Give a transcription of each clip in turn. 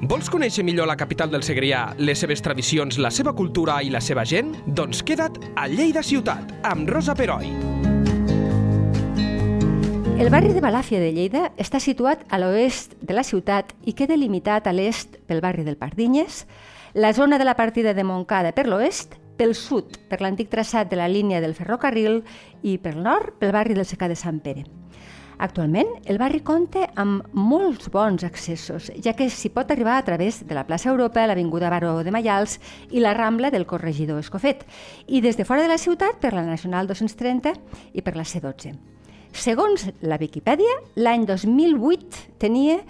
Vols conèixer millor la capital del Segrià, les seves tradicions, la seva cultura i la seva gent? Doncs queda't a Lleida Ciutat, amb Rosa Peroi. El barri de Balàfia de Lleida està situat a l'oest de la ciutat i queda limitat a l'est pel barri del Pardinyes, la zona de la partida de Montcada per l'oest, pel sud per l'antic traçat de la línia del ferrocarril i pel nord pel barri del Secà de Sant Pere. Actualment, el barri compta amb molts bons accessos, ja que s'hi pot arribar a través de la plaça Europa, l'Avinguda Baró de Maials i la Rambla del Corregidor Escofet, i des de fora de la ciutat per la Nacional 230 i per la C12. Segons la Viquipèdia, l'any 2008 tenia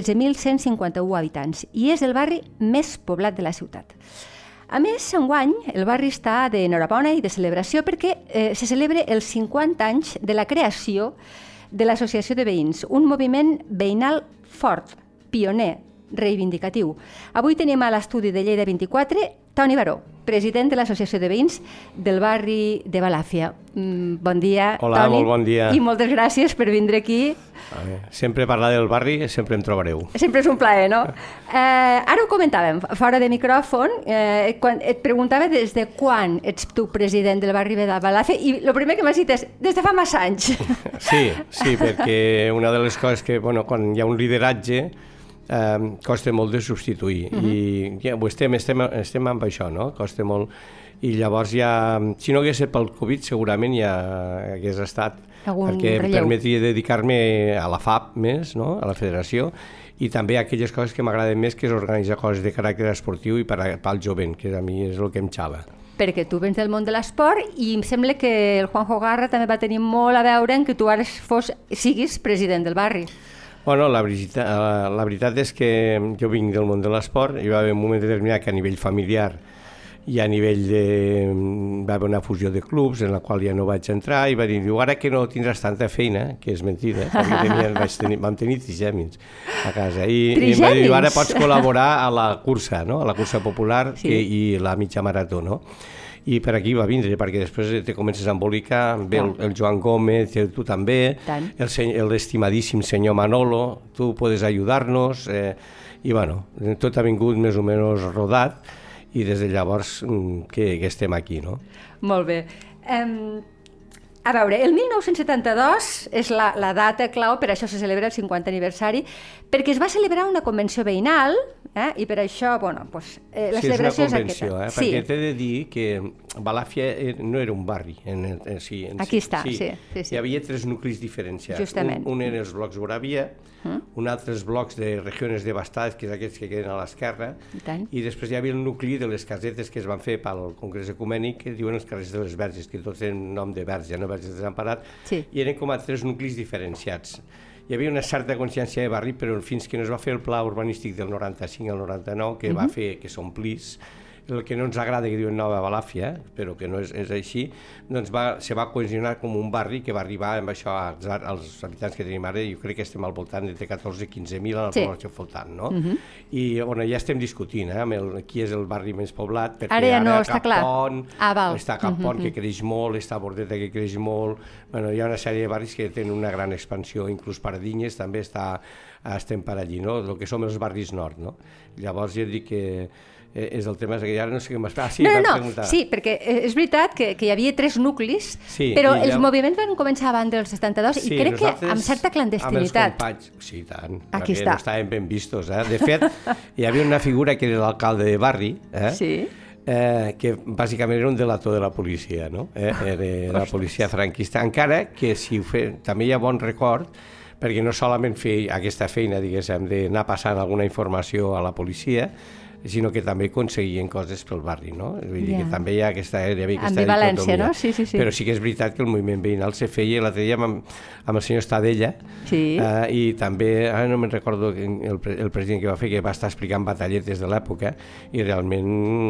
13.151 habitants i és el barri més poblat de la ciutat. A més, enguany, el barri està d'enhorabona i de celebració perquè se celebra els 50 anys de la creació de l'Associació de Veïns, un moviment veïnal fort, pioner, reivindicatiu. Avui tenim a l'estudi de Lleida 24 Toni Baró, president de l'Associació de Veïns del barri de Balàfia. Bon dia, Hola, Toni. molt bon dia. I moltes gràcies per vindre aquí. Sempre parlar del barri, sempre em trobareu. Sempre és un plaer, no? Ara ho comentàvem, fora de micròfon, quan et preguntava des de quan ets tu president del barri de Balàfia i el primer que m'has dit és des de fa massa anys. Sí, perquè una de les coses que, quan hi ha un lideratge, costa molt de substituir i ja, estem amb això, no? Costa molt i llavors ja, si no hagués estat pel Covid segurament ja hagués estat perquè em permetria dedicar-me a la FAP més, no? A la federació i també a aquelles coses que m'agraden més, que és organitzar coses de caràcter esportiu i pel jovent, que a mi és el que em xala. Perquè tu vens del món de l'esport i em sembla que el Juanjo Garra també va tenir molt a veure en que tu ara siguis president del barri. Bueno, la veritat és que jo vinc del món de l'esport i va haver un moment determinat que a nivell familiar i a nivell va haver una fusió de clubs en la qual ja no vaig entrar i va dir, ara que no tindràs tanta feina, que és mentida, perquè vam tenir trigèmins a casa i em va dir, ara pots col·laborar a la cursa, no? A la cursa popular i la mitja marató, no? I per aquí va vindre, perquè després te comences a embolicar, ve el Joan Gómez, tu també, l'estimadíssim senyor Manolo, tu podes ajudar-nos, i bueno, tot ha vingut més o menys rodat, i des de llavors que estem aquí, no? Molt bé. A veure, el 1972 és la data clau, per això se celebra el 50 aniversari, perquè es va celebrar una convenció veïnal, i per això, la celebració és aquesta. Sí, és una convenció, perquè t'he de dir que Balàfia no era un barri. Aquí està, sí. Hi havia 3 nuclis diferenciats. Justament. Un eren els blocs Moravia, un altre els blocs de regions devastades, que és aquests que queden a l'esquerra, i després hi havia el nucli de les casetes que es van fer pel Congrés Ecumènic, que diuen els carrers de les Verges, que tots tenen nom de verge, no verges desemparat, i eren com a 3 nuclis diferenciats. Hi havia una certa consciència de barri, però fins que no es va fer el pla urbanístic del 95 al 99, que va fer que s'omplís, el que no ens agrada que diuen Nova Balàfia, però que no és així, doncs se va cohesionar com un barri que va arribar amb això als habitants que tenim ara, jo crec que estem al voltant de 14-15.000 a la població flotant, no? I ja estem discutint qui és el barri més poblat, perquè ara no està clar. Està Cap Pont, que creix molt, està Bordeta, que creix molt, hi ha una sèrie de barris que tenen una gran expansió, inclús Pardinyes també estem per allí, no? El que som els barris nord, no? Llavors jo dic que és el tema que ara no sé què m'has... Sí, perquè és veritat que hi havia 3 nuclis, però els moviments van començar abans del 72 i crec que amb certa clandestinitat. Amb els companys, sí, tant, perquè no estaven ben vistos. De fet, hi havia una figura que era l'alcalde de barri, que bàsicament era un delator de la policia, no? Era la policia franquista, encara que també hi ha bon record, perquè no solament fer aquesta feina, diguéssim, d'anar passant alguna informació a la policia, sinó que també aconseguien coses pel barri, no? Vull dir que també hi ha aquesta ambivalència, no? Sí. Però sí que és veritat que el moviment veïnal se feia, l'altre dia amb el senyor Estadella, i també, ara no me'n recordo el president que va fer, que va estar explicant batalletes de l'època, i realment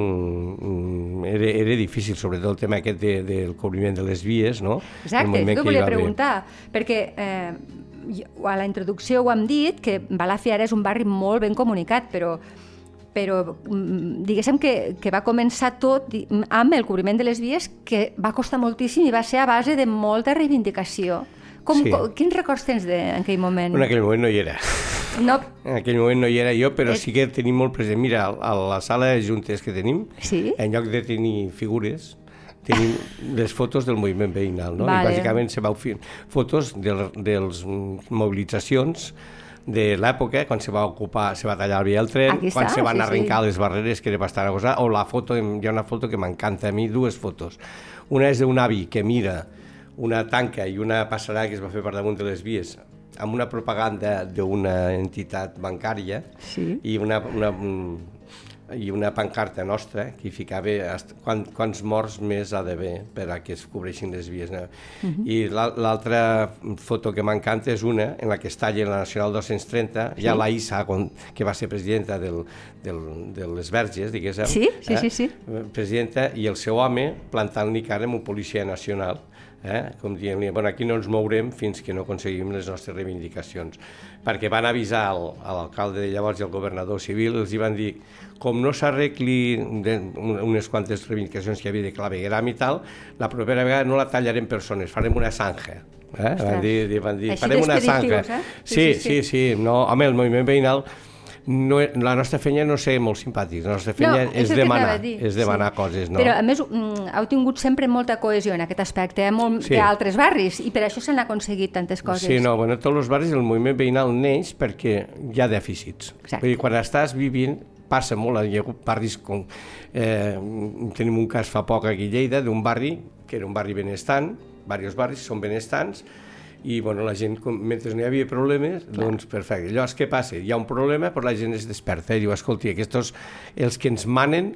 era difícil, sobretot el tema aquest del cobriment de les vies, no? Exacte, jo volia preguntar, perquè a la introducció ho hem dit, que Balàfia ara és un barri molt ben comunicat, però diguéssim que va començar tot amb el cobriment de les vies, que va costar moltíssim i va ser a base de molta reivindicació. Quins records tens en aquell moment? En aquell moment no hi era. No. En aquell moment no hi era jo, però sí que tenim molt present. Mira, a la sala de juntes que tenim, en lloc de tenir figures, tenim les fotos del moviment veïnal, no? I bàsicament se vau fer fotos de les mobilitzacions de l'època, quan se va tallar el via del tren, quan se van arrencar les barreres, que era bastant agosar, o la foto, hi ha una foto que m'encanta a mi, dues fotos. Una és d'un avi que mira una tanca i una passarà que es va fer per damunt de les vies amb una propaganda d'una entitat bancària i una pancarta nostra que hi ficava quants morts més ha d'haver per a que es cobreixin les vies. I l'altra foto que m'encanta és una en la que es talla la Nacional 230, ja la Issa, que va ser presidenta de les Verges, diguéssim, presidenta, i el seu home plantant-li cara amb un policia nacional, com dient-li, aquí no ens mourem fins que no aconseguim les nostres reivindicacions. Perquè van avisar a l'alcalde de llavors i al governador civil, els hi van dir, com no s'arregli unes quantes reivindicacions que hi havia de clavegueram i tal, la propera vegada no la tallarem persones, farem una zanja. Van dir, farem una zanja. Sí. No, home, el moviment veïnal, la nostra feina no sé molt simpàtics, la nostra feina és demanar coses. Però a més heu tingut sempre molta cohesió en aquest aspecte, molt d'altres barris, i per això s'han aconseguit tantes coses. Sí, no, en tots els barris el moviment veïnal neix perquè hi ha dèficits. Vull dir, quan estàs vivint, passa molt, hi ha hagut barris com... Tenim un cas fa poc aquí a Lleida d'un barri, que era un barri benestant, diversos barris són benestants, i la gent, mentre no hi havia problemes, doncs perfecte. Llavors, què passa? Hi ha un problema, però la gent es desperta i diu, escolti, aquests, els que ens manen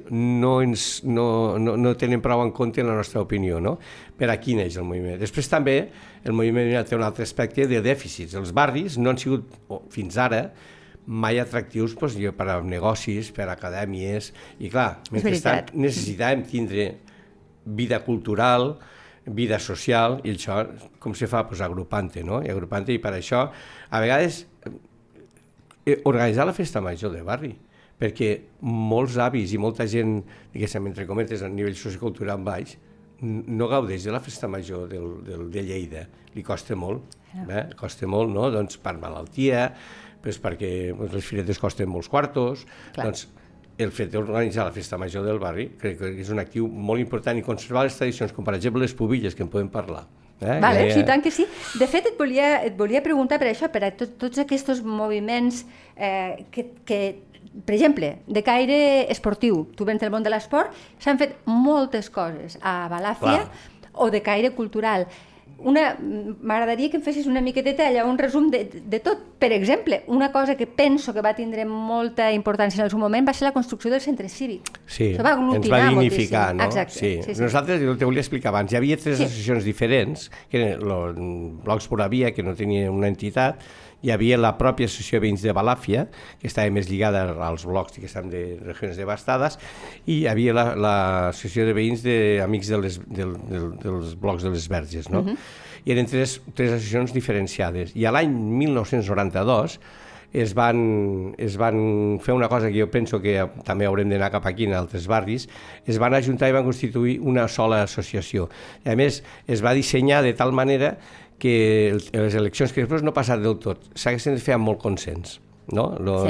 no tenen prou en compte la nostra opinió, no? Per aquí neix el moviment. Després també el moviment té un altre aspecte de dèficits. Els barris no han sigut, fins ara, mai atractius per a negocis, per a acadèmies, i clar, mentrestant necessitàvem tindre vida cultural, vida social, i això com se fa? Agrupant-te, no? I agrupant-te, i per això, a vegades, organitzar la festa major de barri, perquè molts avis i molta gent, diguéssim, entre cometes, a nivell sociocultural baix, no gaudeix de la festa major de Lleida. Li costa molt, costa molt, no? Doncs per malaltia, perquè les firetes costen molts quartos, doncs el fet d'organitzar la festa major del barri crec que és un actiu molt important i conservar les tradicions, com per exemple les pubilles, que en podem parlar. Sí, tant que sí. De fet, et volia preguntar per això, per a tots aquests moviments que, per exemple, de caire esportiu, tu vens del món de l'esport, s'han fet moltes coses a Balàfia, o de caire cultural. M'agradaria que em fessis una miqueteta allà, un resum de tot. Per exemple, una cosa que penso que va tindre molta importància en el seu moment va ser la construcció del centre cívic. Sí, ens va dignificar, no? Sí. Nosaltres, jo te volia explicar abans, hi havia 3 associacions diferents, que eren els blocs per via, que no tenien una entitat, hi havia la pròpia associació de veïns de Balàfia, que estava més lligada als blocs que estan de regions devastades, i hi havia l'associació de veïns d'amics dels blocs de les Verges, no? I eren 3 associacions diferenciades. I a l'any 1992 es van fer una cosa que jo penso que també haurem d'anar cap aquí en altres barris, es van ajuntar i van constituir una sola associació. I a més, es va dissenyar de tal manera que les eleccions que després no passaran del tot, s'haguessin de fer amb molt consens, no?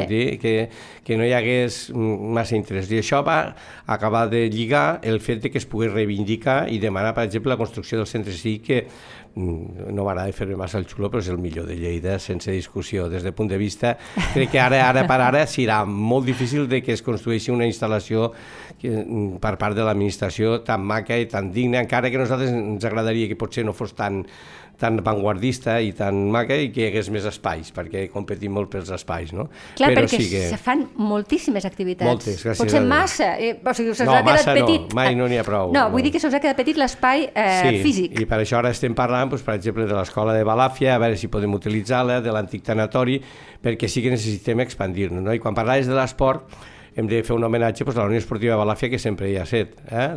Que no hi hagués massa interès. I això va acabar de lligar el fet que es pogués reivindicar i demanar, per exemple, la construcció del centre cívic, que no m'agrada fer-me massa el xulo, però és el millor de Lleida, sense discussió. Des del punt de vista, crec que ara per ara serà molt difícil de que es construeixi una instal·lació per part de l'administració tan maca i tan digna, encara que a nosaltres ens agradaria que potser no fos tan vanguardista i tan maca i que hi hagués més espais, perquè competim molt pels espais, no? Clar, perquè se fan moltíssimes activitats. Moltes, gràcies a Déu. Potser massa, o sigui, se'ls ha quedat petit. No, mai no n'hi ha prou. No, vull dir que se'ls ha quedat petit l'espai físic. Sí, i per això ara estem parlant, per exemple, de l'escola de Balàfia, a veure si podem utilitzar-la, de l'antic tanatori, perquè sí que necessitem expandir-nos, no? I quan parlaves de l'esport, hem de fer un homenatge a la Unió Esportiva de Balàfia, que sempre hi ha set,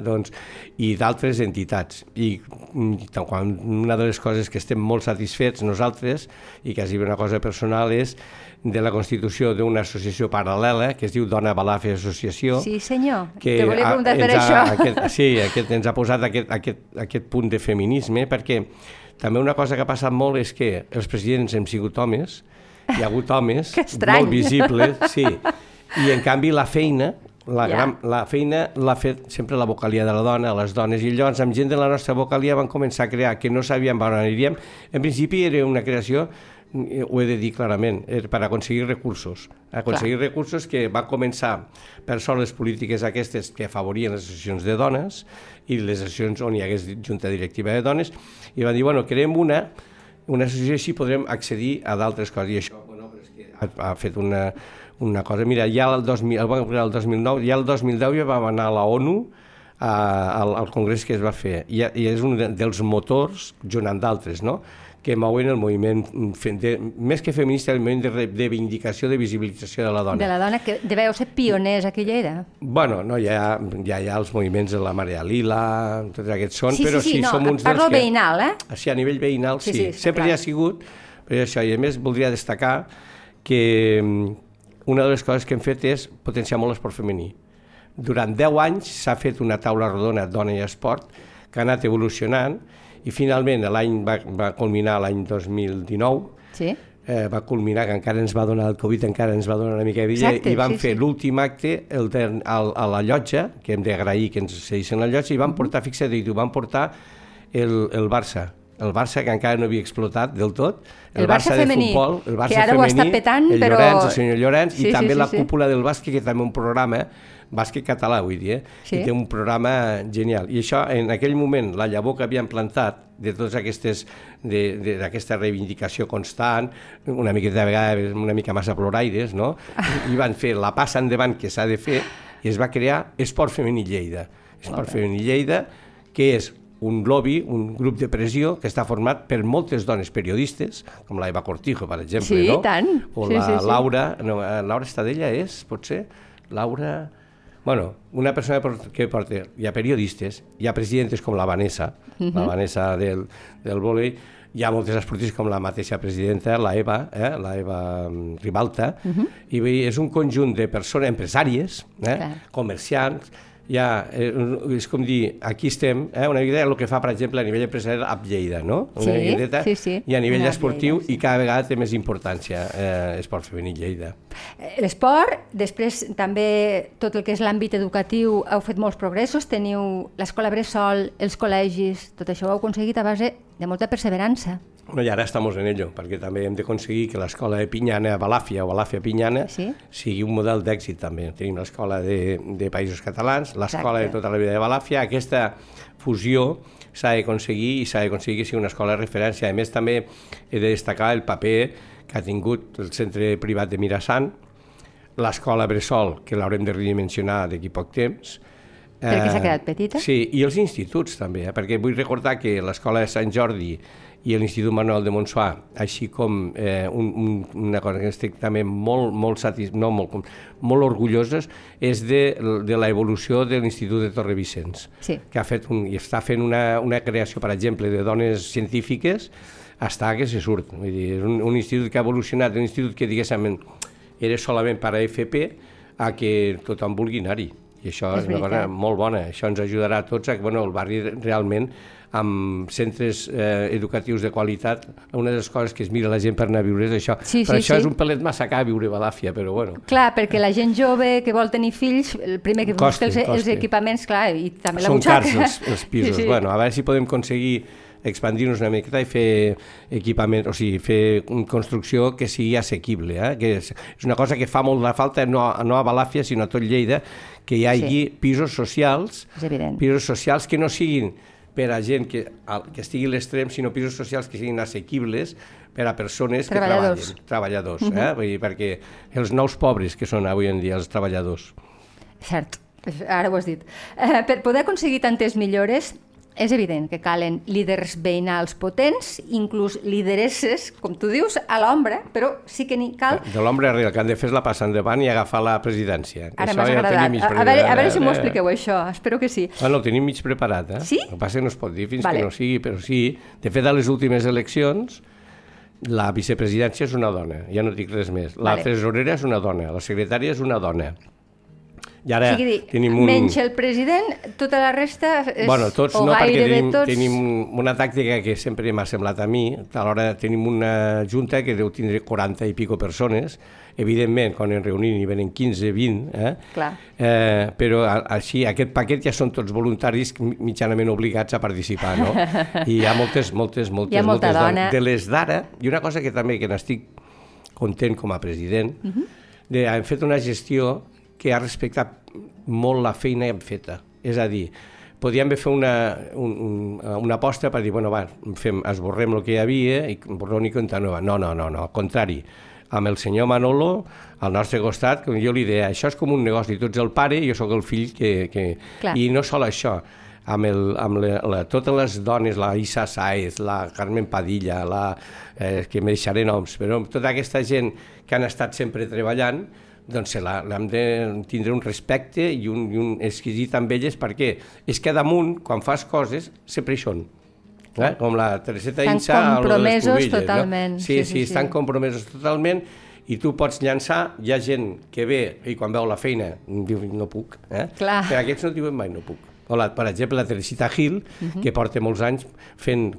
i d'altres entitats. I una de les coses que estem molt satisfets nosaltres, i quasi una cosa personal, és de la constitució d'una associació paral·lela que es diu Dona Balàfia Associació. Sí, senyor. Te volia preguntar per això. Sí, ens ha posat aquest punt de feminisme, perquè també una cosa que ha passat molt és que els presidents hem sigut homes, hi ha hagut homes molt visibles, sí, i en canvi la feina l'ha fet sempre la vocalia de la dona, les dones, i llavors amb gent de la nostra vocalia van començar a crear, que no sabíem on aniríem. En principi era una creació, ho he de dir clarament, per aconseguir recursos. Recursos que va començar per són les polítiques aquestes que afavorien les associacions de dones i les associacions on hi hagués junta directiva de dones, i van dir, bueno, creem una associació, així podrem accedir a d'altres coses. I això, bueno, és que ha fet una cosa. Mira, ja el 2009, ja el 2010 ja vam anar a la ONU al congrés que es va fer, i és un dels motors, junt amb d'altres, no?, que mouen el moviment, més que feminista, el moviment de reivindicació, de visibilització de la dona. De la dona, que deveu ser pioners a aquella era. Bueno, no, ja hi ha els moviments de la Marea Lila, tots aquests són, però sí, som uns dels que... Parlo veïnal, Sí, a nivell veïnal, sí. Sempre hi ha sigut, però això, i a més voldria destacar que una de les coses que hem fet és potenciar molt l'esport femení. Durant 10 anys s'ha fet una taula rodona Dona i Esport, que ha anat evolucionant, i finalment l'any va culminar l'any 2019, va culminar, que encara ens va donar el Covid, encara ens va donar una mica de vida, i vam fer l'últim acte a la llotja, que hem d'agrair que ens cedissin la llotja, i vam portar, fixa't, vam portar el Barça, que encara no havia explotat del tot, el Barça femení, el Barça que ara ho està petant, però... el senyor Llorenç, i també la cúpula del bàsquet, que també un programa, bàsquet català, vull dir, i té un programa genial. I això, en aquell moment, la llavor que havien plantat de totes aquestes, d'aquesta reivindicació constant, una miqueta de vegades, una mica massa ploraires, no?, i van fer la passa endavant que s'ha de fer, i es va crear Esport Femení Lleida. Esport Femení Lleida, que és un lobby, un grup de pressió que està format per moltes dones periodistes, com la Eva Cortijo, per exemple, no? Sí, tant. O la Laura, no, Laura Estadella és, potser? Laura... Bueno, una persona que porta, hi ha periodistes, hi ha presidentes com la Vanessa, la Vanessa del vòlei, hi ha moltes esportistes com la mateixa presidenta, la Eva Ribalta, i és un conjunt de persones empresàries, comerciants, és com dir, aquí estem, una miqueta el que fa, per exemple, a nivell empresarial a Lleida, no? Una miqueta, i a nivell esportiu, i cada vegada té més importància Esport Femení Lleida. L'esport, després també tot el que és l'àmbit educatiu, heu fet molts progressos, teniu l'escola bressol, els col·legis, tot això ho heu aconseguit a base de molta perseverança. I ara estem en ello, perquè també hem d'aconseguir que l'escola de Pinyana, Balàfia o Balàfia-Pinyana, sigui un model d'èxit també. Tenim l'escola de Països Catalans, l'escola de tota la vida de Balàfia. Aquesta fusió s'ha d'aconseguir i s'ha d'aconseguir que sigui una escola de referència. A més, també he de destacar el paper que ha tingut el centre privat de Mirassant, l'escola bressol, que l'haurem de redimensionar d'aquí poc temps. Perquè s'ha quedat petita? Sí, i els instituts també, perquè vull recordar que l'escola de Sant Jordi i l'Institut Manuel de Montsoi, així com una cosa que estic també molt orgulloses, és de l'evolució de l'Institut de Torrevicenç, que ha fet i està fent una creació, per exemple, de dones científiques, està que se surt. Vull dir, és un institut que ha evolucionat, un institut que, diguéssim, era solament per a FP, a que tothom vulgui anar-hi. I això és una cosa molt bona. Això ens ajudarà a tots a que el barri realment, amb centres educatius de qualitat, una de les coses que es mira la gent per anar a viure és això. Per això és un pelet massa car viure a Balàfia, però bueno. Clar, perquè la gent jove que vol tenir fills, el primer que busca els equipaments, clar, i també la butxaca. Són cars els pisos. Bueno, a veure si podem aconseguir expandir-nos una miqueta i fer equipament, o sigui, fer construcció que sigui assequible, que és una cosa que fa molt la falta, no a Balàfia, sinó a tot Lleida, que hi hagi pisos socials que no siguin per a gent que estigui a l'extrem, sinó pisos socials que siguin assequibles per a persones que treballadors, perquè els nous pobres que són avui en dia els treballadors. Cert, ara ho has dit. Per poder aconseguir tantes millores, és evident que calen líders veïnals potents, inclús lideresses, com tu dius, a l'ombra, però sí que n'hi cal... De l'ombra real, que han de fer la passa endavant i agafar la presidència. Ara m'has agradat. A veure si m'ho expliqueu, això. Espero que sí. Bueno, ho tenim mig preparat, Sí? El que passa que no es pot dir fins que no sigui, però sí. De fet, a les últimes eleccions, la vicepresidència és una dona, ja no dic res més. La tresorera és una dona, la secretària és una dona. I ara tenim un... Menys el president, tota la resta és... Bueno, tots o no, perquè tots... tenim una tàctica que sempre m'ha semblat a mi. Alhora tenim una junta que deu tindre 40 i pico persones. Evidentment, quan ens reunim hi venen 15, 20, però així aquest paquet ja són tots voluntaris mitjanament obligats a participar, no? I hi ha moltes dones. De les d'ara, i una cosa que també que n'estic content com a president, hem fet una gestió que ha respectat molt la feina feta. És a dir, podíem haver fet una aposta per dir, bueno, va, esborrem el que hi havia i borrón i compta nova. No, al contrari. Amb el senyor Manolo, al nostre costat, com jo li deia, això és com un negoci, tu ets el pare i jo sóc el fill que... I no sol això, amb totes les dones, la Isa Sáez, la Carmen Padilla, que me deixaré noms, però tota aquesta gent que han estat sempre treballant, doncs l'hem de tindre un respecte i un exquisit amb elles, perquè és que damunt, quan fas coses, sempre hi són. Com la Tereseta Insa... Estan compromesos totalment. Sí, estan compromesos totalment i tu pots llançar, hi ha gent que ve i quan veu la feina diu no puc, però aquests no diuen mai no puc. Per exemple, la Teresita Gil, que porta molts anys fent...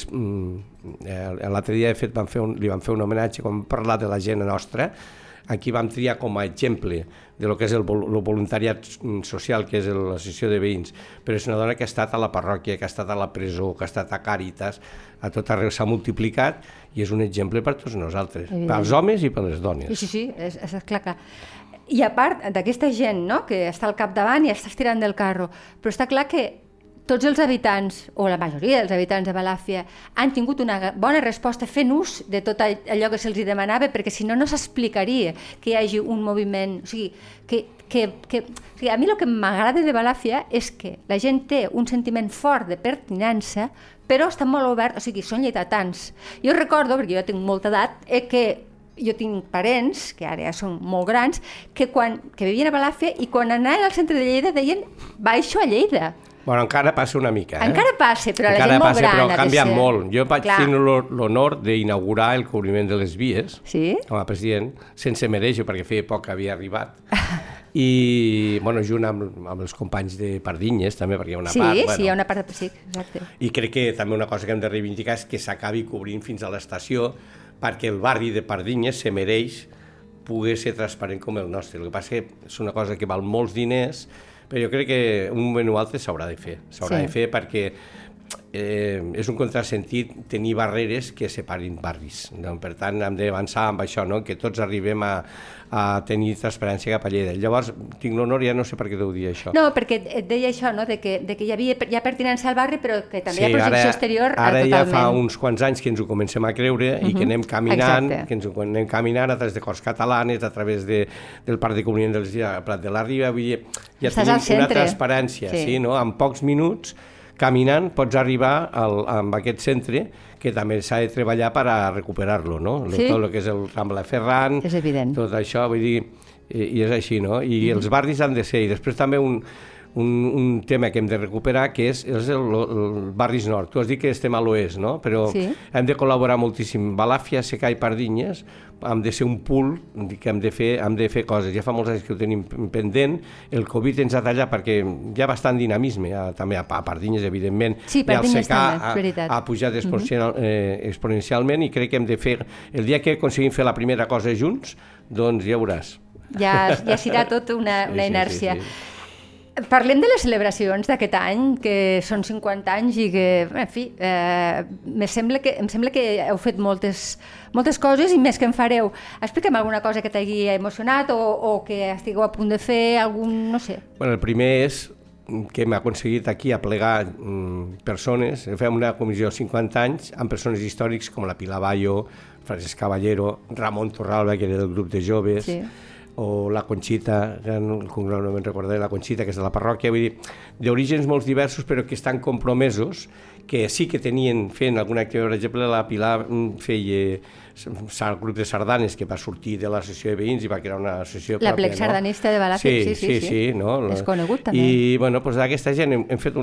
L'altre dia li van fer un homenatge quan vam parlar de la gent nostra. Aquí vam triar com a exemple de lo que és el voluntariat social, que és l'associació de veïns, però és una dona que ha estat a la parròquia, que ha estat a la presó, que ha estat a Càritas, a tot arreu s'ha multiplicat i és un exemple per tots nosaltres, pels homes i per les dones. Sí, és clar que... I a part d'aquesta gent, no?, que està al capdavant i està estirant del carro, però està clar que tots els habitants, o la majoria dels habitants de Balàfia, han tingut una bona resposta fent ús de tot allò que se'ls demanava, perquè si no, no s'explicaria que hi hagi un moviment. O sigui, a mi el que m'agrada de Balàfia és que la gent té un sentiment fort de pertinença, però està molt obert, o sigui, són lleidatans. Jo recordo, perquè jo tinc molta edat, que jo tinc parents, que ara ja són molt grans, que vivien a Balàfia i quan anaven al centre de Lleida deien baixo a Lleida. Bueno, encara passa una mica, Encara passa, però la gent molt gran però ha canviat molt. Jo vaig tenir l'honor d'inaugurar el cobriment de les vies com a president, sense mereixo, perquè feia poc que havia arribat. I, bueno, junt amb els companys de Pardinyes, també, perquè hi ha una part... Sí, hi ha una part de... Sí, exacte. I crec que també una cosa que hem de reivindicar és que s'acabi cobrint fins a l'estació, perquè el barri de Pardinyes se mereix poder ser transparent com el nostre. El que passa és una cosa que val molts diners, però jo crec que un moment o altre s'haurà de fer. S'haurà de fer perquè és un contrasentit tenir barreres que separin barris. Per tant, hem d'avançar amb això, que tots arribem a tenir transparència cap a Lleida. Llavors, tinc l'honor, ja no sé per què deu dir això. No, perquè et deia això, de que hi havia ja pertinença al barri, però que també hi ha projecció exterior totalment. Ara ja fa uns quants anys que ens ho comencem a creure i que anem caminant, a través de Corts Catalanes, a través del Parc de Comunitat dels Prat de la Riba, ja tenim una transparència, en pocs minuts caminant pots arribar a aquest centre que també s'ha de treballar per a recuperar-lo, no? Tot el que és el Rambla Ferran, tot això, vull dir, i és així, no? I els barris han de ser, i després també un tema que hem de recuperar, que és el barris nord. Tu has dit que estem a l'oest, no? Però hem de col·laborar moltíssim. Balàfia, Secà i Pardinyes hem de ser un pool que hem de fer coses. Ja fa molts anys que ho tenim pendent. El Covid ens ha tallat perquè hi ha bastant dinamisme, també a Pardinyes, evidentment. Sí, Pardinyes també, ha pujat exponencialment i crec que hem de fer... El dia que aconseguim fer la primera cosa junts, doncs ja veuràs. Ja serà tot una inèrcia. Parlem de les celebracions d'aquest any, que són 50 anys i que, en fi, em sembla que heu fet moltes coses i més que en fareu. Explica'm alguna cosa que t'hagi emocionat o que estigueu a punt de fer, algun, no sé. Bueno, el primer és que hem aconseguit aquí aplegar persones. Fem una comissió de 50 anys amb persones històrics com la Pilar Bayo, Francesc Caballero, Ramon Torralba, que era del grup de joves, o la Conxita, el cognom no me'n recordaré, la Conxita, que és de la parròquia, vull dir, d'orígens molt diversos però que estan compromesos, que sí que tenien fent alguna activitat. Per exemple, la Pilar feia el grup de sardanes que va sortir de l'associació de veïns i va crear una associació pròpia. L'Aplec Sardanista de Balàfia, sí. És conegut també. I bueno, d'aquesta gent hem fet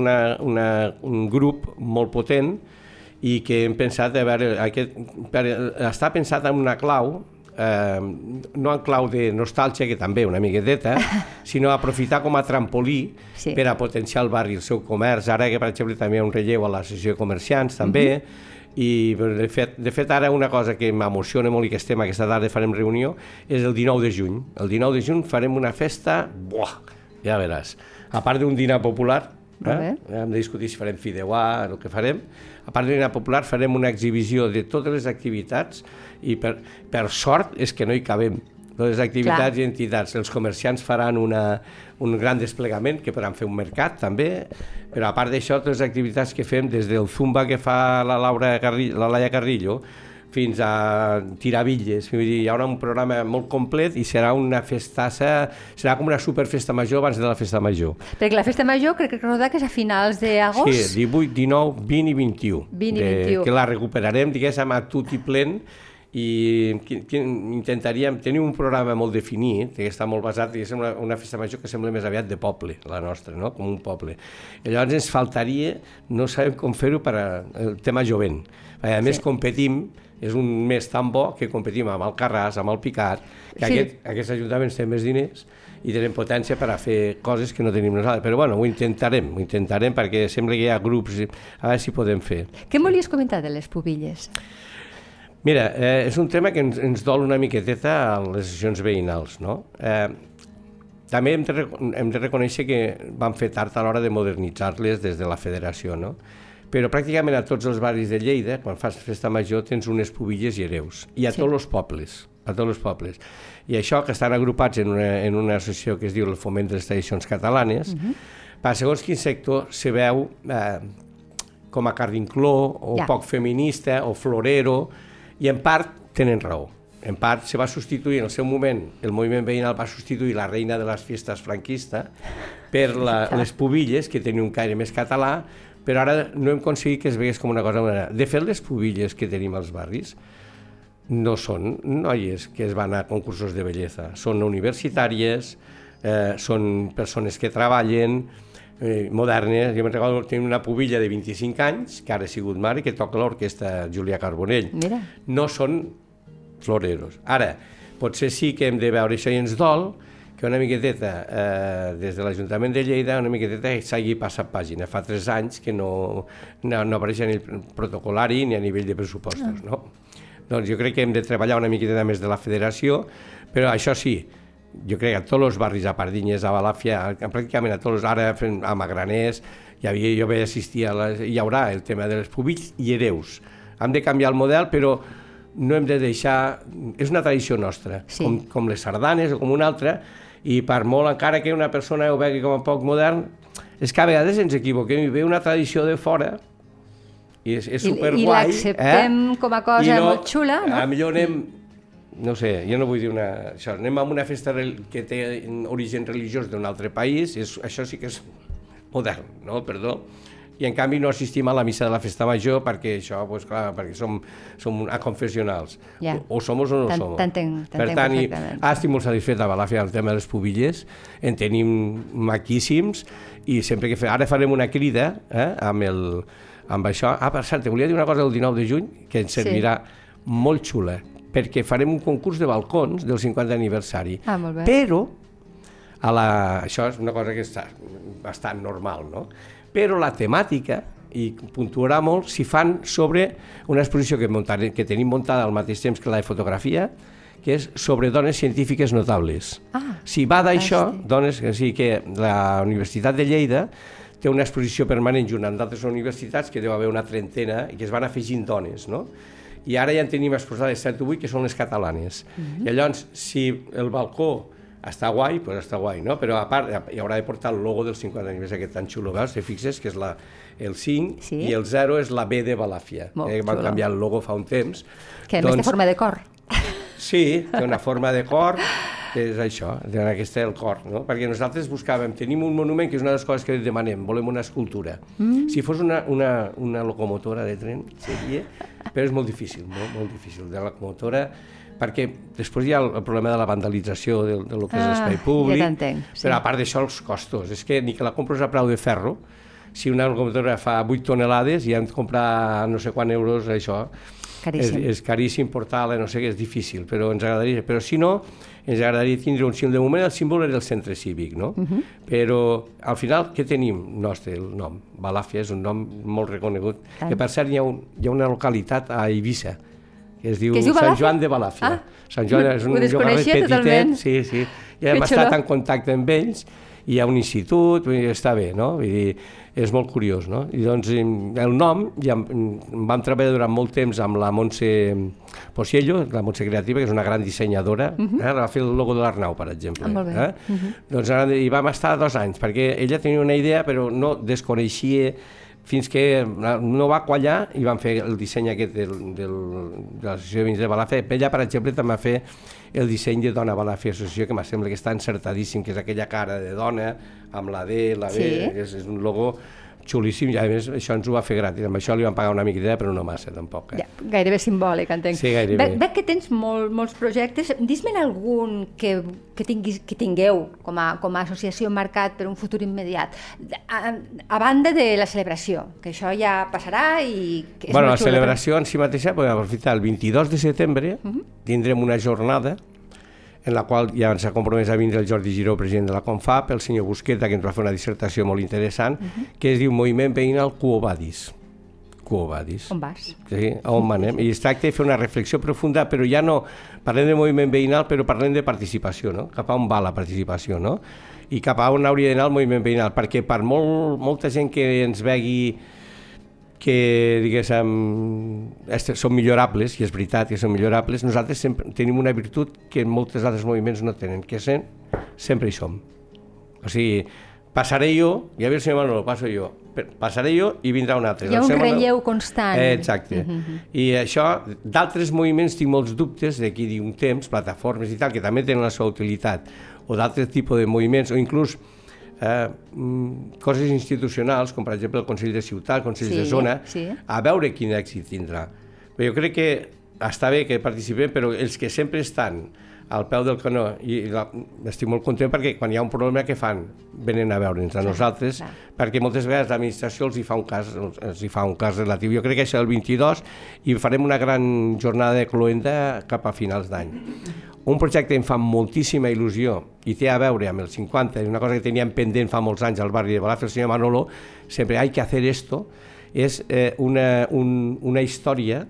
un grup molt potent i que hem pensat, està pensat en una clau no en clau de nostàlgia, que també una miqueteta, sinó aprofitar com a trampolí per a potenciar el barri, el seu comerç. Ara que, per exemple, també hi ha un relleu a l'associació de comerciants, també, i de fet ara una cosa que m'emociona molt i que estem aquesta tarda farem reunió és el 19 de juny. El 19 de juny farem una festa, ja veràs, a part d'un dinar popular, hem de discutir si farem fideuà, el que farem. A part d'un dinar popular farem una exhibició de totes les activitats i per sort és que no hi cabem. Totes les activitats i entitats. Els comerciants faran un gran desplegament, que podran fer un mercat també, però a part d'això, totes les activitats que fem, des del zumba que fa la Laia Carrillo, fins a tirar bitlles. Vull dir, hi haurà un programa molt complet i serà una festassa, serà com una superfesta major abans de la festa major. Perquè la festa major crec que recordar que és a finals d'agost. Sí, 18, 19, 20 i 21. 20 i 21. Que la recuperarem, diguéssim, a tot i plen, i intentaríem tenir un programa molt definit, que està molt basat, diguéssim, una festa major que sembla més aviat de poble, la nostra, no? Com un poble. I llavors ens faltaria, no sabem com fer-ho per al tema jovent. A més, competim, és un mes tan bo que competim amb el Carràs, amb el Picat, que aquests ajuntaments tenen més diners i tenen potència per a fer coses que no tenim nosaltres. Però bueno, ho intentarem perquè sembla que hi ha grups, a veure si podem fer. Què em volies comentar de les pubilles? Mira, és un tema que ens dol una miqueteta a les associacions veïnals, no? També hem de reconèixer que vam fer tard a l'hora de modernitzar-les des de la federació, no? Però pràcticament a tots els barris de Lleida, quan fas festa major, tens unes pubilles i hereus. I a tots els pobles. I això, que estan agrupats en una associació que es diu el Foment de les Tradicions Catalanes, per segons quin sector se veu com a carrincló, o poc feminista, o florero, i en part tenen raó. En part se va substituir, en el seu moment, el moviment veïnal va substituir la reina de les festes franquista per les pubilles, que tenia un caire més català, però ara no hem aconseguit que es vegués com una cosa. De fet, les pubilles que tenim als barris no són noies que es van a concursos de bellesa, són universitàries, són persones que treballen, modernes. Jo me'n recordo que tenia una pubilla de 25 anys, que ara ha sigut mare, que toca l'orquestra Julià Carbonell. Mira. No són floreros. Ara, potser sí que hem de veure això i ens dol, que una miqueteta, des de l'Ajuntament de Lleida, una miqueteta s'hagi passat pàgina. Fa 3 anys que no apareix ni el protocolari ni a nivell de pressupostos, no? Doncs jo crec que hem de treballar una miqueteta més de la federació, però això sí, jo crec que a tots els barris, a Pardinyes, a Balàfia, pràcticament a tots, ara a Magraners, jo vaig assistir hi haurà el tema de les pubilles i hereus. Hem de canviar el model, però no hem de deixar... És una tradició nostra, com les sardanes o com una altra, i per molt encara que una persona ho vegi com a poc modern, és que a vegades ens equivoquem i ve una tradició de fora i és superguai. I l'acceptem com a cosa molt xula, no? A millor anem, no sé, jo no vull dir això, anem a una festa que té origen religiós d'un altre país, això sí que és modern, no? Perdó. I en canvi no assistim a la missa de la festa major perquè això, doncs clar, perquè som aconfessionals. O som o no som. T'entenc Per tant, estic molt satisfet a Balàfia el tema de les pubilles, en tenim maquíssims i sempre que ara farem una crida amb això. Per cert, te volia dir una cosa del 19 de juny que ens servirà molt xula, perquè farem un concurs de balcons del 50 aniversari. Molt bé. Però, això és una cosa que està bastant normal, no? Però la temàtica, i puntuarà molt, s'hi fan sobre una exposició que tenim muntada al mateix temps que la de fotografia, que és sobre dones científiques notables. Si va d'això, que la Universitat de Lleida té una exposició permanent junt amb d'altres universitats, que deu haver una trentena, i que es van afegint dones, no? I ara ja en tenim exposades 7 o 8, que són les catalanes. I llavors, si el balcó està guai, doncs està guai, no? Però a part hi haurà de portar el logo del 50 aniversari, aquest tan xulo, veus? Si fixes que és el 5 i el 0 és la B de Balàfia. Van canviar el logo fa un temps. Que a més té forma de cor. Sí, té una forma de cor, que és això, aquest és el cor, no? Perquè nosaltres buscàvem, tenim un monument, que és una de les coses que demanem, volem una escultura. Si fos una locomotora de tren, seria, però és molt difícil, molt difícil, de la locomotora, perquè després hi ha el problema de la vandalització del que és l'espai públic, però a part d'això els costos, és que ni que la compres a preu de ferro, si una locomotora fa 8 tonelades i han de comprar no sé quant euros, això, és caríssim portar-la, no sé què, és difícil, però ens agradaria. Però si no, ens agradaria tindre un símbol. De moment el símbol era el centre cívic, no? Però al final, què tenim nostre? El nom. Balàfia és un nom molt reconegut. Que per cert hi ha una localitat a Eivissa que es diu Sant Joan de Balàfia. Sant Joan és un llogaret petitet. Sí. Ja hem estat en contacte amb ells, hi ha un institut, està bé, no? Vull dir, és molt curiós, no? I doncs el nom, ja vam treballar durant molt temps amb la Montse Pociello, la Montse Creativa, que és una gran dissenyadora, va fer el logo de l'Arnau, per exemple. Molt bé. Doncs hi vam estar 2 anys, perquè ella tenia una idea, però no desconeixia, fins que no va quallar i van fer el disseny aquest de l'Associació de Veïns de Balàfia. Ella, per exemple, també va fer el disseny de Dona Balàfia Associació, que em sembla que està encertadíssim, que és aquella cara de dona, amb la D, la B, és un logo xulíssim, i a més això ens ho va fer gratis, amb això li vam pagar una miqueta, però no massa tampoc. Ja, gairebé simbòlic, entenc. Sí, gairebé. Veig que tens molts projectes, dis-me'n algun que tingueu com a associació marcat per un futur immediat, a banda de la celebració, que això ja passarà i... Bueno, la celebració en si mateixa, podem aprofitar el 22 de setembre, tindrem una jornada en la qual ja ens ha compromès a vindre el Jordi Giró, president de la Confap, el senyor Busqueta, que ens va fer una dissertació molt interessant, que es diu Moviment Veïnal Quo Vadis. Quo Vadis. On vas? Sí, on anem. I es tracta de fer una reflexió profunda, però ja no parlem de moviment veïnal, però parlem de participació, no? Cap a on va la participació, no? I cap a on hauria d'anar el moviment veïnal, perquè per molta gent que ens vegi que, diguéssim, són millorables, i és veritat que són millorables, nosaltres sempre tenim una virtut que molts altres moviments no tenen, que sempre hi som. O sigui, passaré jo, i a veure si Manolo, passo jo, passaré jo i vindrà un altre. Hi ha un relleu constant. Exacte. I això, d'altres moviments tinc molts dubtes, d'aquí d'un temps, plataformes i tal, que també tenen la seva utilitat, o d'altres tipus de moviments, o inclús coses institucionals, com per exemple el Consell de Ciutat, el Consell de Zona, a veure quin èxit tindrà. Però jo crec que està bé que participem, però els que sempre estan al peu del canó, i estic molt content perquè quan hi ha un problema, què fan? Venen a veure'ns a nosaltres, perquè moltes vegades l'administració els hi fa un cas relatiu. Jo crec que això és el 22 i farem una gran jornada de cloenda cap a finals d'any. Un projecte que em fa moltíssima il·lusió i té a veure amb el 50, una cosa que teníem pendent fa molts anys al barri de Balàfia, el senyor Manolo, sempre hay que hacer esto, és una història,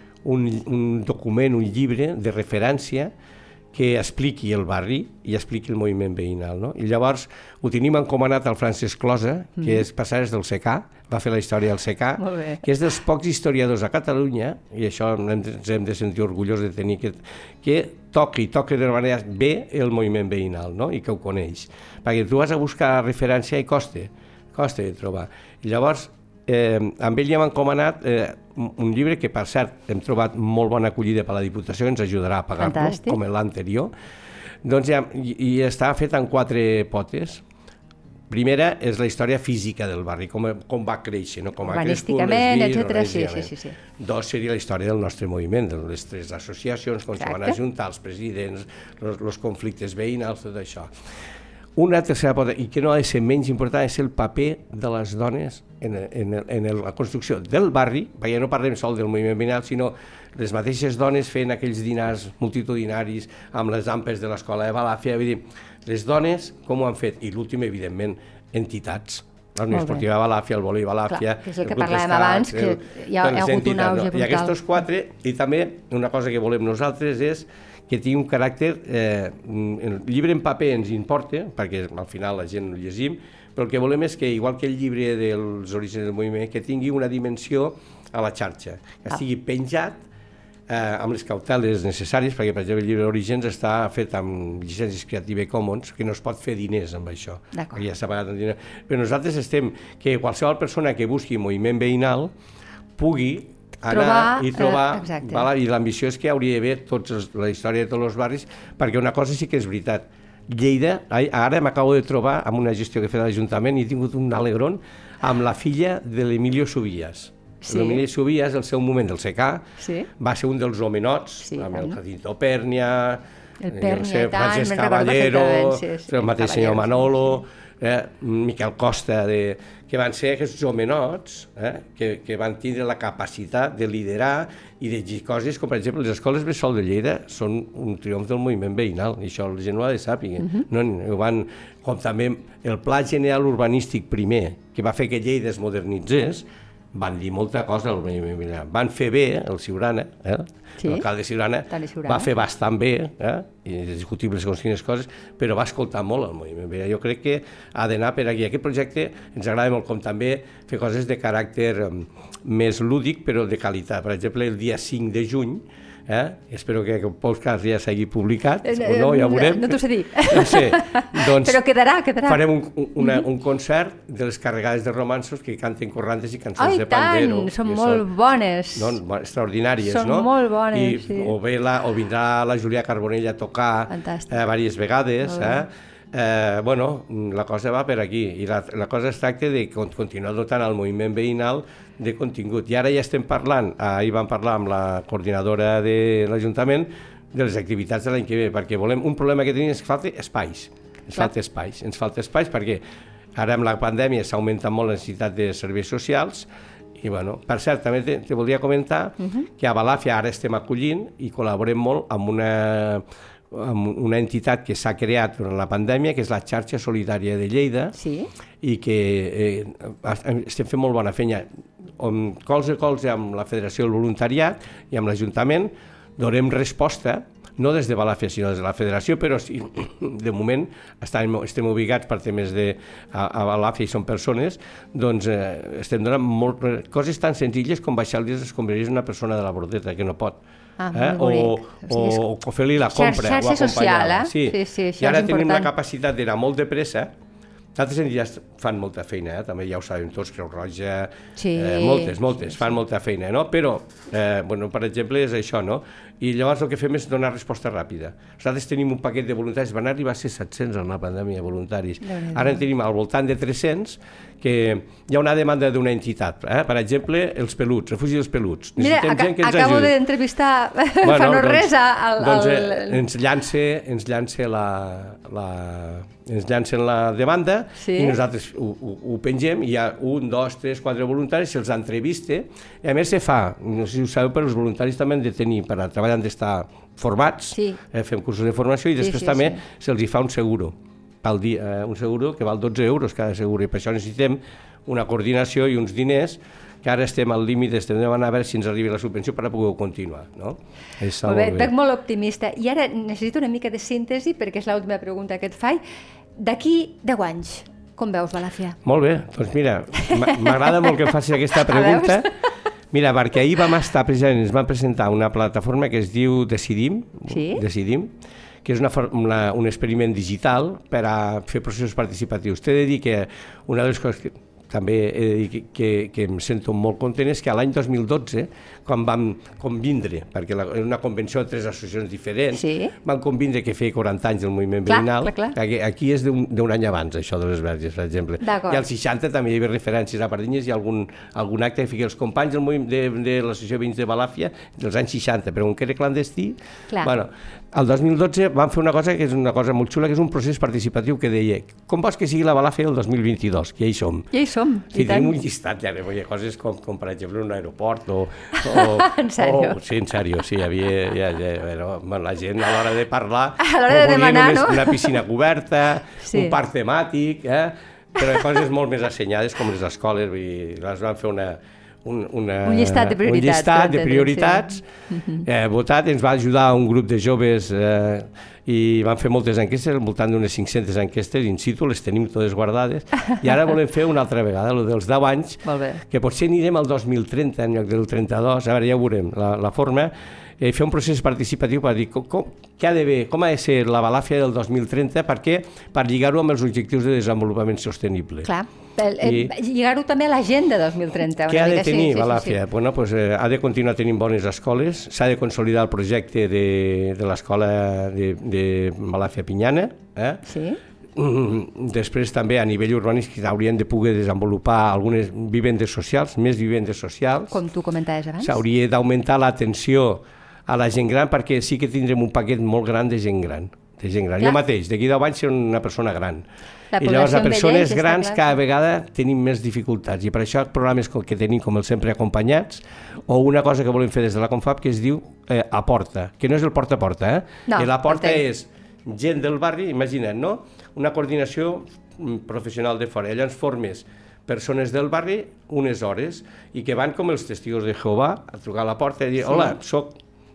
un document, un llibre de referència que expliqui el barri i expliqui el moviment veïnal, no? I llavors ho tenim encomanat al Francesc Closa, que és passares del SECA, va fer la història del SECA, que és dels pocs historiadors a Catalunya, i això ens hem de sentir orgullosos de tenir, que toqui d'una manera bé el moviment veïnal, no? I que ho coneix. Perquè tu vas a buscar referència i costa de trobar. I llavors, amb ell ja m'han encomanat un llibre que, per cert, hem trobat molt bona acollida per la Diputació, que ens ajudarà a pagar-lo, com l'anterior. Doncs i està fet en 4 potes. Primera és la història física del barri, com va créixer, no? Com ha crescut, etcètera. Sí. 2 seria la història del nostre moviment, de les 3 associacions, com se van ajuntar, els presidents, els conflictes veïnals, tot això. Una tercera pota, i que no ha de ser menys important, és el paper de les dones en la construcció del barri, perquè no parlem sol del moviment veïnal, sinó les mateixes dones fent aquells dinars multitudinaris amb les ampes de l'escola de Balàfia. Vull dir, les dones com ho han fet? I l'últim, evidentment, entitats. La Unió Esportiva de Balàfia, el Vòlei Balàfia... Clar, que és el que parlàvem abans, que hi ha hagut un auge brutal. I aquests 4, i també una cosa que volem nosaltres és que tingui un caràcter... El llibre en paper ens importa, perquè al final la gent ho llegim, però el que volem és que, igual que el llibre dels orígens del moviment, que tingui una dimensió a la xarxa, que estigui penjat amb les cauteles necessàries, perquè, per exemple, el llibre d'Orígens està fet amb llicències Creative Commons, que no es pot fer diners amb això, perquè ja s'ha pagat en diners. Però nosaltres estem que qualsevol persona que busqui moviment veïnal pugui anar i trobar, i l'ambició és que hauria d'haver la història de tots els barris, perquè una cosa sí que és veritat. Lleida, ara m'acabo de trobar amb una gestió que he fet a l'Ajuntament i he tingut un alegron amb la filla de l'Emilio Subillas. L'Emilio Subillas, el seu moment del SECA, va ser un dels homenots, amb el Jacinto Pèrnia, El Pèrnia, i tant, Francesc Caballero, el mateix senyor Manolo, Miquel Costa, que van ser aquests homenots que van tindre la capacitat de liderar i de dir coses com, per exemple, les escoles bressol de Lleida són un triomf del moviment veïnal, i això la gent ho ha de saber. Com també el Pla General Urbanístic primer, que va fer que Lleida es modernitzés, van dir molta cosa al moviment veïnal. Van fer bé, el Siurana, l'alcalde Siurana, va fer bastant bé, i és discutible segons quines coses, però va escoltar molt el moviment veïnal. Jo crec que ha d'anar per aquí. Aquest projecte ens agrada molt, com també fer coses de caràcter més lúdic, però de qualitat. Per exemple, el dia 5 de juny, espero que el podcast ja s'hagi publicat, o no, ja ho veurem. No t'ho sé dir. No sé, doncs però quedarà. Farem un concert de les carregades de romanços que canten corrantes i cançons de pandero. Són molt bones. Extraordinàries, no? Són molt bones, sí. O vindrà la Júlia Carbonell a tocar diverses vegades, la cosa va per aquí, i la cosa es tracta de continuar dotant el moviment veïnal de contingut. I ara ja estem parlant, ahir vam parlar amb la coordinadora de l'Ajuntament de les activitats de l'any que ve, perquè un problema que tenim és que falta espais. Ens falta espais perquè ara amb la pandèmia s'ha augmentat molt la necessitat de serveis socials. I, per cert, també te volia comentar que a Balàfia ara estem acollint i col·laborem molt amb una entitat que s'ha creat durant la pandèmia, que és la Xarxa Solidària de Lleida, i que estem fent molt bona feina. Colze a colze amb la Federació del Voluntariat i amb l'Ajuntament donem resposta, no des de Balàfia, sinó des de la Federació, però de moment estem ubicats per temes a Balàfia i són persones, doncs estem donant coses tan senzilles com baixar-li les escombraries a una persona de la Bordeta, que no pot. O fer-li la compra. Xarxa social, sí. I ara tenim la capacitat d'anar molt de pressa. D'altres entitats fan molta feina, també ja ho sabem tots, Creu Roja, moltes, fan molta feina, no? Però, per exemple, és això, no? I llavors el que fem és donar resposta ràpida. Nosaltres tenim un paquet de voluntaris, van arribar a ser 700 en la pandèmia, voluntaris. Ara en tenim al voltant de 300, que hi ha una demanda d'una entitat. Per exemple, els peluts, refugi dels peluts. Mira, acabo d'entrevistar fa no res ens llancen la demanda i nosaltres ho pengem, i hi ha 1, 2, 3, 4 voluntaris, se'ls entrevista, i a més se fa, no sé si ho sabeu, però els voluntaris també han de tenir, per a treballar han d'estar formats, fem cursos de formació, i després també se'ls fa un seguro, un seguro que val 12 euros cada seguro, i per això necessitem una coordinació i uns diners, que ara estem al límit, estem demanant a veure si ens arriba la subvenció per a poder continuar. Molt bé, veig molt optimista. I ara necessito una mica de síntesi, perquè és l'última pregunta que et faig. D'aquí 10 anys, com veus Balàfia? Molt bé, doncs mira, m'agrada molt que em facis aquesta pregunta. Mira, perquè ahir vam estar, precisament, ens van presentar una plataforma que es diu Decidim, que és un experiment digital per a fer processos participatius. T'he de dir que una de les coses que també he de dir que em sento molt content és que l'any 2012, quan vam convindre, perquè era una convenció de 3 associacions diferents, vam convindre que feia 40 anys del moviment veïnal, aquí és d'un any abans, això de les Verges, per exemple. I als 60 també hi havia referències a Pardinyes i algun acte que feia els companys de l'associació Veïns de Balàfia dels anys 60, però com que era clandestí, el 2012 vam fer una cosa que és una cosa molt xula, que és un procés participatiu que deia com vols que sigui la Balàfia del 2022, que ja hi som. Sí, tenim un llistat, ja, coses com per exemple un aeroport o... En sèrio? Sí, en sèrio, sí, hi havia... La gent a l'hora de parlar... A l'hora de demanar, no? Una piscina coberta, un parc temàtic, però coses molt més assenyades com les escoles, les van fer un llistat de prioritats votat. Ens va ajudar un grup de joves i van fer moltes enquestes, al voltant d'unes 500 enquestes in situ, les tenim totes guardades, i ara volem fer una altra vegada, el dels 10 anys, que potser anirem al 2030 en lloc del 32, a veure, ja ho veurem, la forma, fer un procés participatiu per dir com ha de ser la Balàfia del 2030, per lligar-ho amb els objectius de desenvolupament sostenible. Clar, lligar-ho també a l'agenda 2030. Què ha de tenir Balàfia? Ha de continuar tenint bones escoles, s'ha de consolidar el projecte de l'escola de Balàfia Pinyana, després també a nivell urbanístic haurien de poder desenvolupar algunes vivendes socials, més vivendes socials. Com tu comentaves abans. S'hauria d'augmentar l'atenció a la gent gran, perquè sí que tindrem un paquet molt gran de gent gran. Jo mateix, d'aquí 10 anys seré una persona gran. I llavors a persones grans cada vegada tenim més dificultats, i per això programes que tenim com el Sempre Acompanyats, o una cosa que volem fer des de la Confab que es diu Aporta, que no és el porta a porta, l'Aporta és gent del barri, imagina't, no? Una coordinació professional de fora, llavors formes persones del barri unes hores i que van com els testigos de Jehovà a trucar a la porta i dir, hola, soc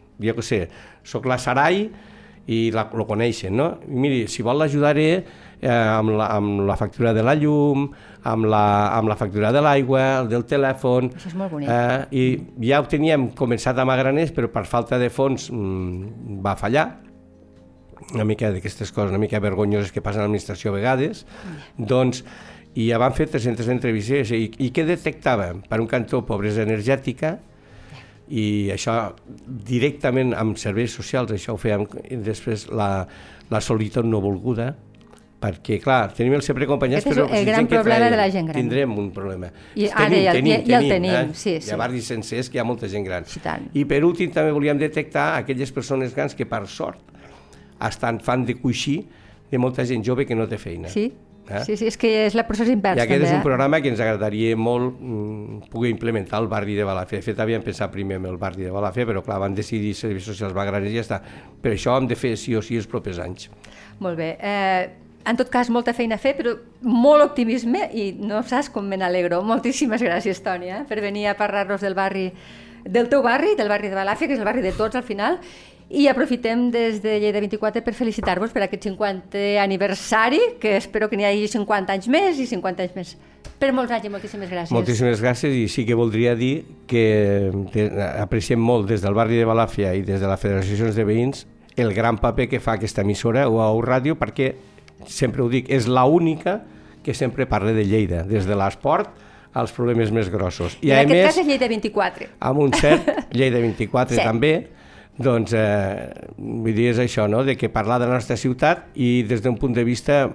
la Sarai, i lo coneixen, no? I miri, si vol l'ajudaré amb la factura de la llum, amb la factura de l'aigua, del telèfon. Això és molt bonic. I ja ho teníem començat a Magraners, però per falta de fons va fallar. Una mica d'aquestes coses, una mica vergonyoses que passen a l'administració a vegades. Doncs, i ja van fer 300 entrevistes. I què detectàvem? Per un cantó, pobresa energètica, i això directament amb serveis socials, això ho fèiem després la solitud no volguda, perquè clar, tenim el Sempre Acompanyats, però el gran problema de la gent gran. Tindrem un problema. I ara ja el tenim, sí. Hi ha barris sencers que hi ha molta gent gran. I per últim també volíem detectar aquelles persones grans que per sort fan de coixí de molta gent jove que no té feina. Sí, és que és la procés invers. I aquest és un programa que ens agradaria molt poder implementar al barri de Balàfia. De fet, havíem pensat primer en el barri de Balàfia, però clar, van decidir serveis socials Magraners i ja està. Per això hem de fer sí o sí els propers anys. Molt bé. En tot cas, molta feina a fer, però molt optimisme i no saps com me n'alegro. Moltíssimes gràcies, Toni, per venir a parlar-nos del teu barri, del barri de Balàfia, que és el barri de tots al final. I aprofitem des de Lleida 24 per felicitar-vos per aquest 50è aniversari, que espero que n'hi hagi 50 anys més i 50 anys més. Per molts anys i moltíssimes gràcies. Moltíssimes gràcies, i sí que voldria dir que apreciem molt des del barri de Balàfia i des de la Federació de Veïns el gran paper que fa aquesta emissora o ràdio, perquè sempre ho dic, és l'única que sempre parla de Lleida, des de l'esport als problemes més grossos. I en aquest cas és Lleida 24. Amb un cert Lleida 24 també. Doncs, vull dir, és això, no?, de que parlar de la nostra ciutat i des d'un punt de vista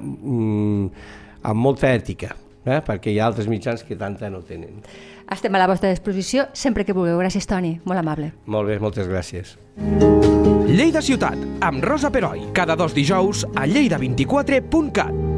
amb molta ètica, perquè hi ha altres mitjans que tanta no tenen. Estem a la vostra disposició sempre que vulgueu. Gràcies, Toni. Molt amable. Molt bé, moltes gràcies. Lleida Ciutat, amb Rosa Peroi, cada 2 dijous a lleida24.cat.